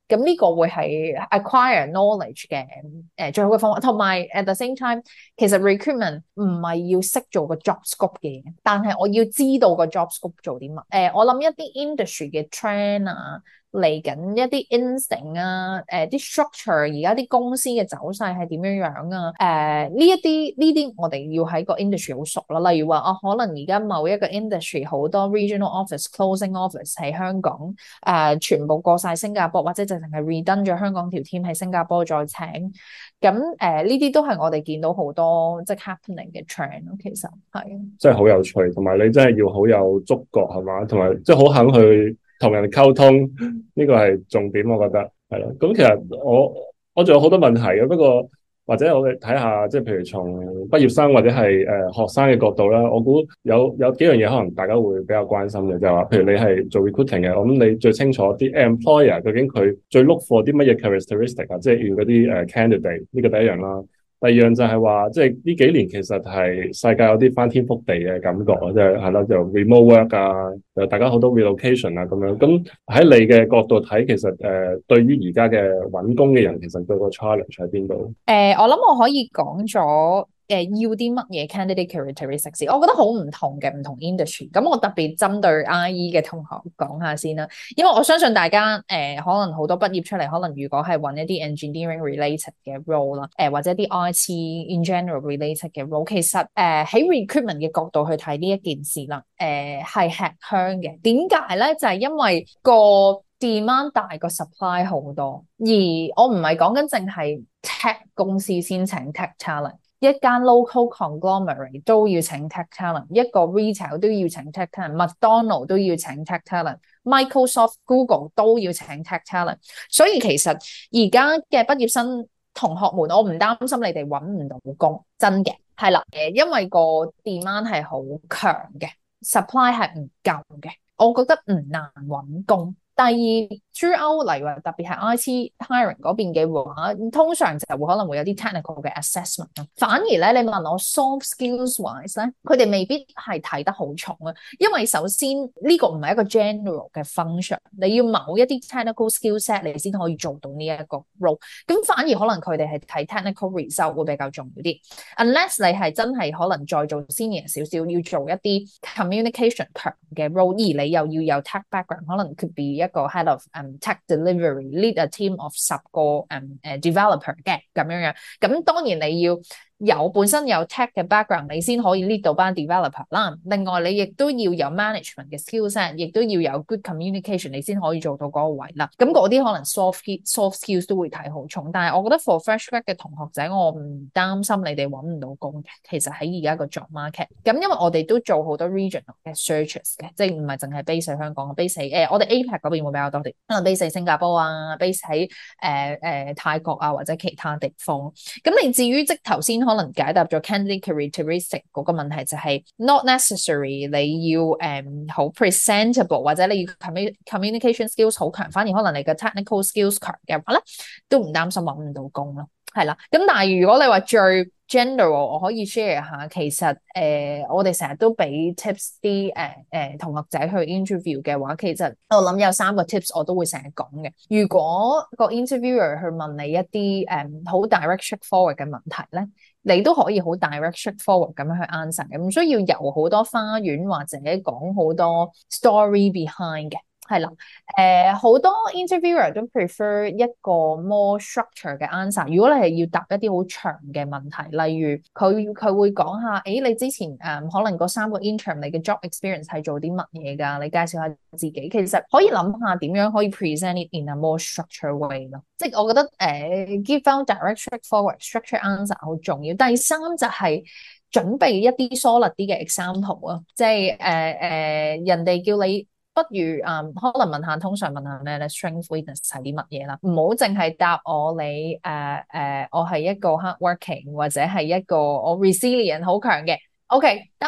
咁呢個會係 acquire knowledge 嘅最好嘅方法。同埋 at the same time，其實 recruitment 唔係要識做個 job scope 嘅嘢，但係我要知道個 job scope 做啲乜。我諗一啲 industry 嘅 trend 啊，嚟緊一啲 instinct 啊，啲 structure 而家啲公司嘅走勢係點樣樣啊？呢啲我哋要喺個 industry 好熟啦。例如話可能而家某一個 industry 好多 regional office closing office 喺香港，全部過晒新加坡，或者就淨係 redone 咗香港條 team 喺新加坡再請。咁呢啲都係我哋見到好多即係 happening 嘅 trend 咯。其實係真係好有趣，同埋你真係要好有觸覺係嘛，同埋即係好肯去同人溝通，呢個係重點，我覺得係咯。咁其實我仲有好多問題嘅，不過或者我哋睇下，即係譬如從畢業生或者係學生嘅角度啦，我估有幾樣嘢可能大家會比較關心嘅，就係話，譬如你係做 recruiting 嘅，我諗你最清楚啲 employer 究竟佢最 look for 啲乜嘢 characteristic 啊，即係要嗰啲candidate，呢個第一樣啦。第二樣就係話，即係呢幾年其實係世界有啲翻天覆地嘅感覺啊，即係係咯，就 remote work 啊，大家好多 relocation 啊咁樣。咁喺你嘅角度睇，其實對於而家嘅揾工嘅人，其實對個 challenge 喺邊度？ 我諗我可以講咗。要啲乜嘢 candidate characteristics？我覺得好唔同嘅唔同 industry。咁我特別針對 IE 嘅同學講下先啦，因為我相信大家可能好多畢業出嚟，可能如果係揾一啲 engineering related 嘅 role 啦，或者啲 IT in general related 嘅 role，其實喺 recruitment 嘅角度去睇呢一件事啦，係吃香嘅。點解咧？就係因為個 demand 大過 supply 好多，而我唔係講緊淨係 tech 公司先請 tech talent。一間 local conglomerate 都要請 tech talent， 一個 retail 都要請 tech talent， 麥當勞都要請 tech talent，Microsoft、Google 都要請 tech talent。所以其實而家嘅畢業生同學們，我唔擔心你哋揾唔到工，真嘅係啦，因為個 demand 係好強嘅 ，supply 係唔夠嘅，我覺得唔難揾工。第二 throughout 例如話特別係 IT hiring 嗰邊嘅話，通常就會可能會有啲 technical 嘅 assessment 咯。反而咧，你問我 soft skills wise 咧，佢哋未必係睇得好重啊。因為首先呢個唔係一個 general 嘅 function，你要某一啲 technical skill set 你先可以做到呢一個 role。咁反而可能佢哋係睇 technical result 會比較重要啲。Unless 你係真係可能再做 senior 少少，要做一啲 communication 強嘅 role，而你又要有 tech background， 可能 could be一個 head of tech delivery lead a team of 10個developer 嘅咁樣樣，咁當然你要本身有 tech 嘅 background， 你先可以 lead 到班 developer 啦。另外你亦都要有 management 嘅 skills， 亦都要有 good communication， 你先可以做到嗰個位啦。咁嗰啲可能 soft skills 都會睇好重，但係我覺得 for fresh grad 嘅同學仔，我唔擔心你哋揾唔到工嘅。其實喺而家個 job market， 咁因為我哋都做好多 regional 嘅 searches 嘅，即係唔係淨係 base 喺香港 ，base 喺我哋 APAC 嗰邊會比較多啲，可能 base 喺新加坡啊，base 喺泰國啊或者其他地方。咁你至於即頭先可能解答咗 candidate characteristic 嗰個問題，就係 not necessary 你要好 presentable 或者你要 communication skills 好強，反而可能你嘅 technical skills 強嘅話咧，都唔擔心揾唔到工咯。係啦，咁但係如果你話最 general， 我可以 share 下，其實我哋成日都俾 tips 啲同學仔去 interview 嘅話，其實我諗有3個 tips 我都會成日講嘅。如果個 interviewer 去問你一啲好 direct straightforward 嘅問題咧，你都可以好 direct straightforward 咁樣去 answer 嘅，唔需要遊好多花園或者講好多 story behind 嘅。係啦，好多 interviewer 都 prefer 一個 more structure 嘅 answer。如果你係要答一啲好長嘅問題，例如佢會講下，你之前可能嗰3個 intern 你嘅 job experience 係做啲乜嘢㗎？你介紹下自己。其實可以諗下點樣可以 present it in a more structured way 咯。即係我覺得give out direct straightforward structure answer 好重要。第三就係準備一啲 solid 啲嘅 example 啊，即係人哋叫你。不如可能通常問下咩咧 ？Strength weakness 係啲乜嘢啦？唔好淨係答我你我係一個 hardworking 或者係一個我 resilient 好強嘅。OK 得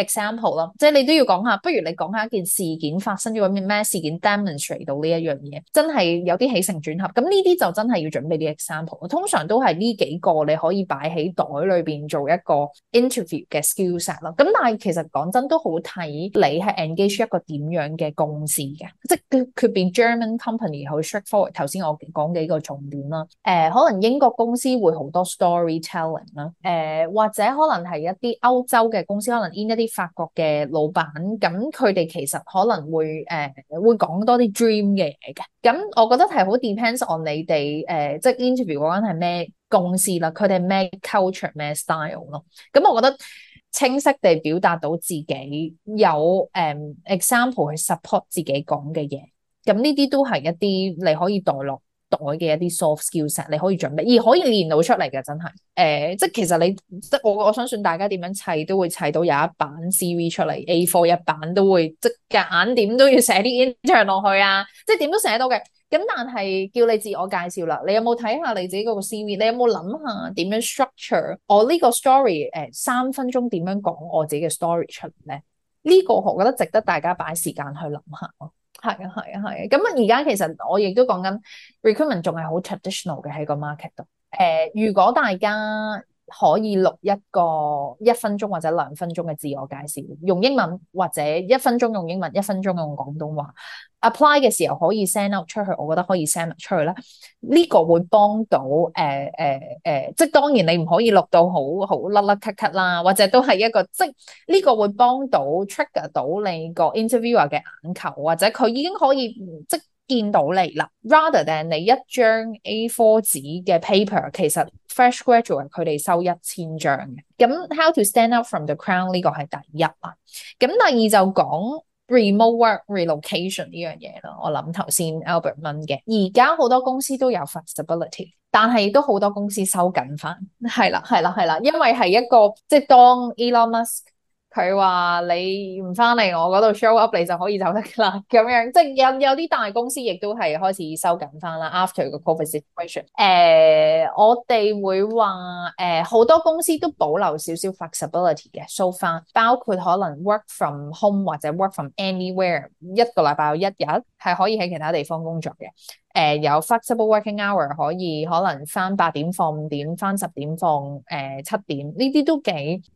example 咯，即係你都要講下，不如你講下一件事件發生咗咩事件 demonstrate 到呢一樣嘢，真係有啲起承轉合。咁呢啲就真係要準備啲 example。通常都係呢幾個你可以擺喺袋裏邊做一個 interview 嘅 skill set 咯。咁但係其實講真都好睇你係 engage 一個點樣嘅公司嘅，即係佢變 German company 好 straightforward。頭先我講幾個重點啦，可能英國公司會好多 storytelling 啦，或者可能係一啲歐洲嘅公司，可能 in 一啲法國嘅老闆，咁佢哋其實可能會會講多啲 dream 嘅嘢嘅。咁我覺得係好 depends on 你哋即係 interview 嗰間係咩公司啦，佢哋咩 culture 咩 style 咯。咁我覺得清晰地表達到自己有example 去 support 自己講嘅嘢，咁呢啲都係一啲你可以代落袋嘅一啲 soft skills， 你可以準備，而可以練到出嚟嘅，真係即係其實你即係我相信大家點樣砌都會砌到有一版 CV 出嚟 A4 一版都會即係夾硬點都要寫啲 intern 落去啊，即係點都寫到嘅。咁但係叫你自我介紹啦，你有冇睇下你自己嗰個 CV？ 你有冇諗下點樣 structure 我呢個 story？ 3分鐘點樣講我自己嘅 story 出嚟咧？呢個我覺得值得大家擺時間去諗下咯。係啊，係啊，係啊。咁而家其實我亦都講緊 recruitment 仲係好 traditional 嘅喺個 market 度。如果大家可以錄一個1分鐘或者2分鐘嘅自我介紹，用英文或者1分鐘用英文，1分鐘用廣東話 apply 嘅時候可以 send out 出去，我覺得可以 send out 出去啦。呢個會幫到即係當然你唔可以錄到好甩甩咳咳啦，或者都係一個即係呢個會幫到 trigger 到你個 interviewer 嘅眼球，或者佢已經可以即見到你啦 ，rather than 你一張 A4 紙嘅 paper， 其實 fresh graduate 佢哋收1000張嘅。咁 how to stand out from the crowd 呢個係第一啦。咁第二就講 remote work relocation 呢樣嘢咯。我諗頭先 Albert 問嘅，而家好多公司都有 flexibility， 但係都好多公司收緊翻。係啦，係啦，係啦，因為係一個即係當 Elon Musk。佢話你唔翻嚟我嗰度 show up， 你就可以走得噶啦，咁樣即係有啲大公司亦都係開始收緊翻啦。After 個 COVID situation，我哋會話好多公司都保留少少 flexibility 嘅 so far， 包括可能 work from home 或者 work from anywhere， 一個禮拜有1日係可以喺其他地方工作嘅。有 flexible working hour， 可以可能翻8點放5點，翻10點放7點，呢啲都幾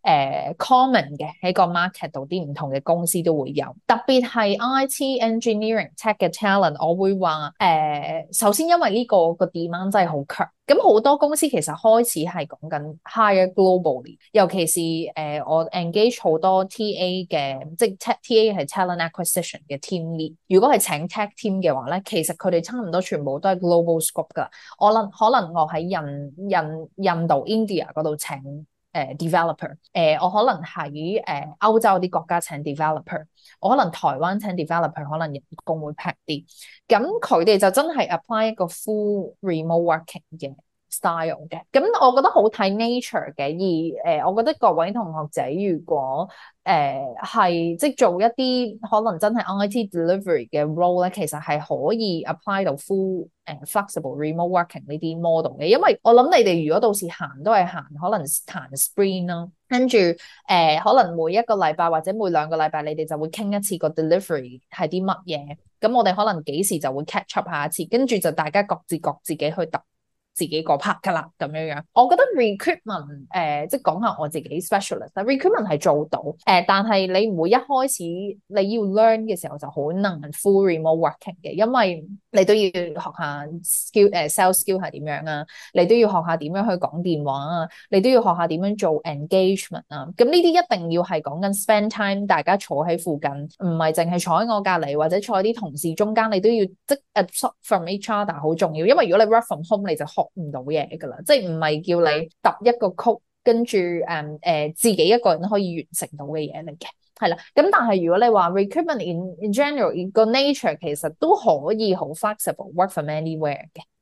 common 嘅喺個 market 度，啲唔同嘅公司都會有。特別係 IT engineering tech 嘅 talent， 我會話首先因為呢個 demand 真係好強。咁好多公司其實開始係講緊 hire globally， 尤其是我 engage 好多 TA 嘅，即係 TA 係 talent acquisition 嘅 team lead。如果係請 tech team 嘅話咧，其實佢哋差唔多全部都係 global scope 噶。可能我喺印度 India 嗰度請developer， 我可能喺歐洲啲國家請 developer， 我可能台灣請 developer， 可能人工會平啲。咁佢哋就真係 apply 一個 full remote working 嘅 style 嘅。咁我覺得好睇 nature 嘅。而我覺得各位同學仔如果係即係做一啲可能真係 IT delivery 嘅 role 咧，其實係可以 apply 到 full flexible remote working 呢啲 model 嘅。因為我諗你哋如果到時行都係行可能行 sprint 啦，跟住可能每一個禮拜或者每2個禮拜你哋就會傾一次個 delivery 係啲乜嘢。咁我哋可能幾時就會 catch up 下一次，跟住就大家各自自己去揼自己個 part 噶啦，咁樣樣。我覺得 recruitment 即係講下我自己 specialist， 但 recruitment 係做到但係你唔會一開始你要 learn 嘅時候就好難 full remote working 嘅，因為你都要學下 skill sales skill 係點樣啊，你都要學下點樣去講電話啊，你都要學下點樣做 engagement 啊。咁呢啲一定要係講緊 spend time， 大家坐喺附近，唔係淨係坐喺我隔離或者坐喺啲同事中間，你都要即 absorb from each other 好重要。因為如果你 work from home 你就學唔到嘢噶啦，即係唔係叫你揼一個曲跟住自己一個人可以完成到嘅嘢嚟嘅。係啦，咁但係如果你話 recruitment in general 個 nature 其實都可以好 flexible work from anywhere 嘅。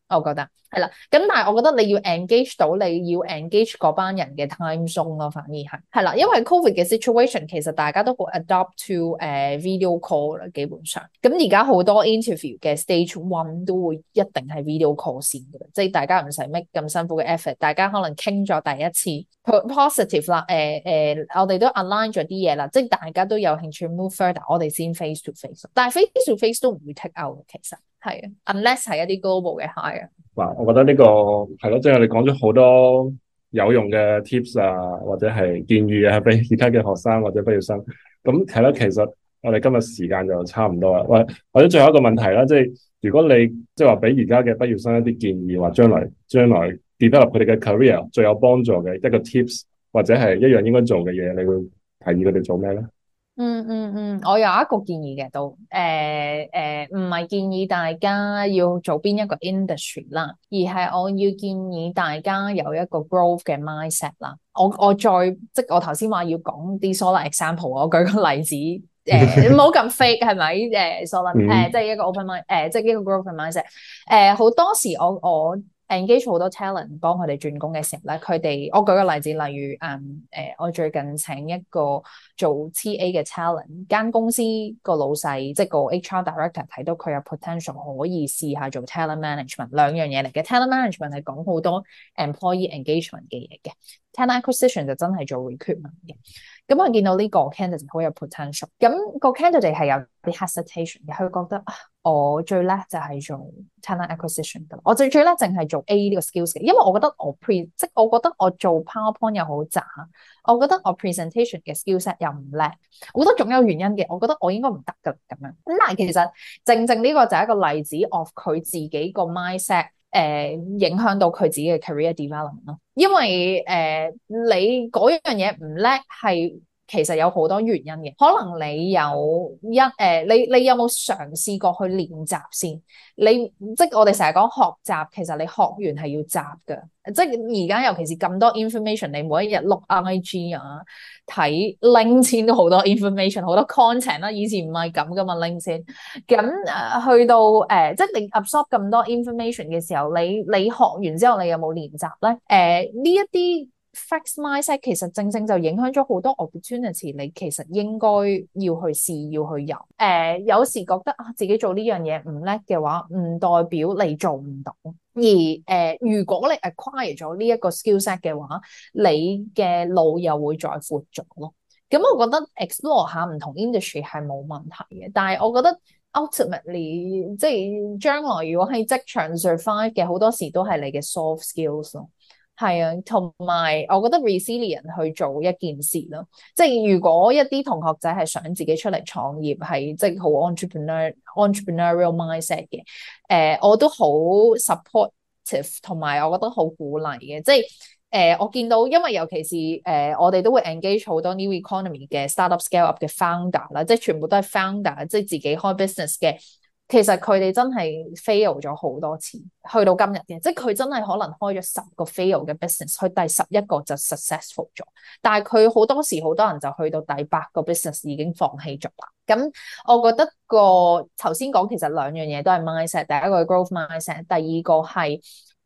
我覺得係啦。咁但係我覺得你要 engage 到，你要 engage 嗰班人嘅 time zone 咯，反而係啦。因為 COVID 嘅 situation 其實大家都好 adopt to video call 啦，基本上。咁而家好多 interview 嘅 stage one 都會一定係 video call 先嘅，即係大家唔使 make 咁辛苦嘅 effort， 大家可能傾咗第一次 positive 啦，我哋都 align 咗啲嘢啦，即係大家都有興趣 move further， 我哋先 face to face， 但係 face to face 都唔會 take out 其實係啊 ，unless 係一啲 global 嘅 hire。 嗱，我覺得呢個係咯，即係我哋講咗好多有用嘅 tips 啊，或者係建議啊，俾而家嘅學生或者畢業生。咁係咯，其實我哋今日時間就差唔多啦。或者最後一個問題啦，即係如果你即係話俾而家嘅畢業生一啲建議，話將來 develop 佢哋嘅 career 最有幫助嘅一個 tips， 或者係一樣應該做嘅嘢，你會提議佢哋做咩咧？ 我有一個建議嘅都，唔係建議大家要做邊一個 industry 啦，而係我要建議大家有一個 growth 嘅 mindset 啦。我再即係我頭先話要講啲 solid example， 我舉個例子，唔好咁 fake 係咪？solid 即係一個 open mind，即係一個 growth 嘅 mindset。好多時我engage 好多 talent 幫佢哋轉工嘅時候咧，佢哋我舉個例子，例如我最近請一個做 TA 嘅 talent， 間公司個老細即係個 HR director 睇到佢有 potential 可以試下做 talent management， 兩樣嘢嚟嘅。talent management 係講好多 employee engagement 嘅嘢嘅， talent acquisition 就真係做 recruitment 嘅。咁我見到呢個 candidate 好有 potential， 咁個 candidate 係有啲 hesitation 嘅，佢覺得我最叻就係做 talent acquisition 㗎，我最叻淨係做 A 呢個 skills 嘅，因為我覺得我覺得我做 PowerPoint 又好渣，我覺得我 presentation 嘅 skillset 又唔叻，我覺得總有原因嘅，我覺得我應該唔得㗎咁樣。咁但係其實正呢個就係一個例子 of 佢自己個 mindset。影響到佢自己嘅 career development 咯，因為你嗰樣嘢唔叻係其實有好多原因嘅，可能你有你有冇嘗試過去練習先？即係我哋成日講學習，其實你學完係要習㗎。即係而家尤其是咁多 information， 你每一日碌 IG 啊，睇 LinkedIn 都好多 information， 好多 content 啦。以前唔係咁噶嘛 LinkedIn。咁去到即係你 absorb 咁多 information 嘅時候，你學完之後，你有冇練習咧？呢一啲 fixed mindset 其實正就影響咗好多 opportunity， 你其實應該要去試，要去游。有時覺得自己做呢樣嘢唔叻嘅話，唔代表你做唔到。而如果你 acquire 咗呢一個 skill set 嘅話，你嘅路又會再闊咗咯。咁我覺得 explore 下唔同 industry 係冇問題嘅，但係我覺得 ultimately 即係將來如果喺職場 survive 嘅，好多時都係你嘅 soft skills 咯。係啊，同埋我覺得 resilient 去做一件事咯，即係如果一啲同學仔係想自己出嚟創業，係即係好 entrepreneurial mindset 嘅，我都好 supportive， 同埋我覺得好鼓勵嘅，即係我見到，因為尤其是我哋都會 engage 好多 new economy 嘅 startup scale up 嘅 founder 啦，即係全部都係 founder， 即係自己開 business 嘅。其實佢哋真係 fail 咗好多次，去到今日嘅，即係佢真係可能開咗10個 fail 嘅 business， 佢第11個就 successful 咗，但係佢好多時好多人就去到第8個 business 已經放棄咗啦。咁我覺得頭先講其實兩樣嘢都係 mindset， 第一個係 growth mindset， 第二個係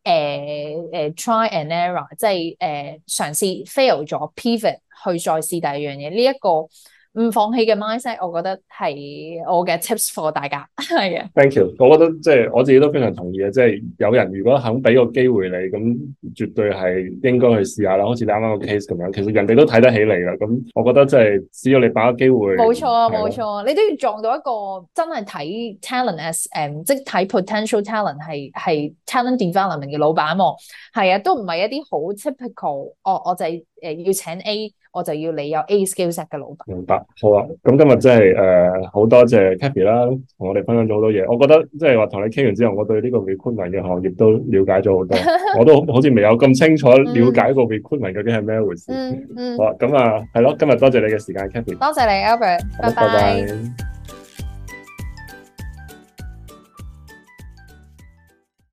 try and error， 即係嘗試 fail 咗 pivot 去再試第二樣嘢，呢一個唔放棄嘅 mindset， 我覺得係我嘅 tips for 大家。係啊 ，thank you。我覺得即係我自己都非常同意嘅，即係有人如果肯俾個機會你，咁絕對係應該去試下啦。好似你啱啱個 case 咁樣，其實人哋都睇得起你啦。咁我覺得即係只要你把握機會， 冇錯啊，冇錯，你都要撞到一個真係睇 talent as 即係睇 potential talent 係 talent development 嘅老闆喎。係啊，都唔係一啲好 typical，我就係要請 A。我就要你有 A skill set 嘅老闆。 明白，好啊。咁今日真係好多謝 Kathy 啦，同我哋分享咗好多嘢。我覺得即係話同你傾完之後，我對呢個 recruitment 嘅行業都了解咗好多。我都好似未有咁清楚了解個 recruitment 究竟係咩回事。好啊，咁啊係咯，今日多謝你嘅時間 ，Kathy。 多謝你 Albert，拜拜。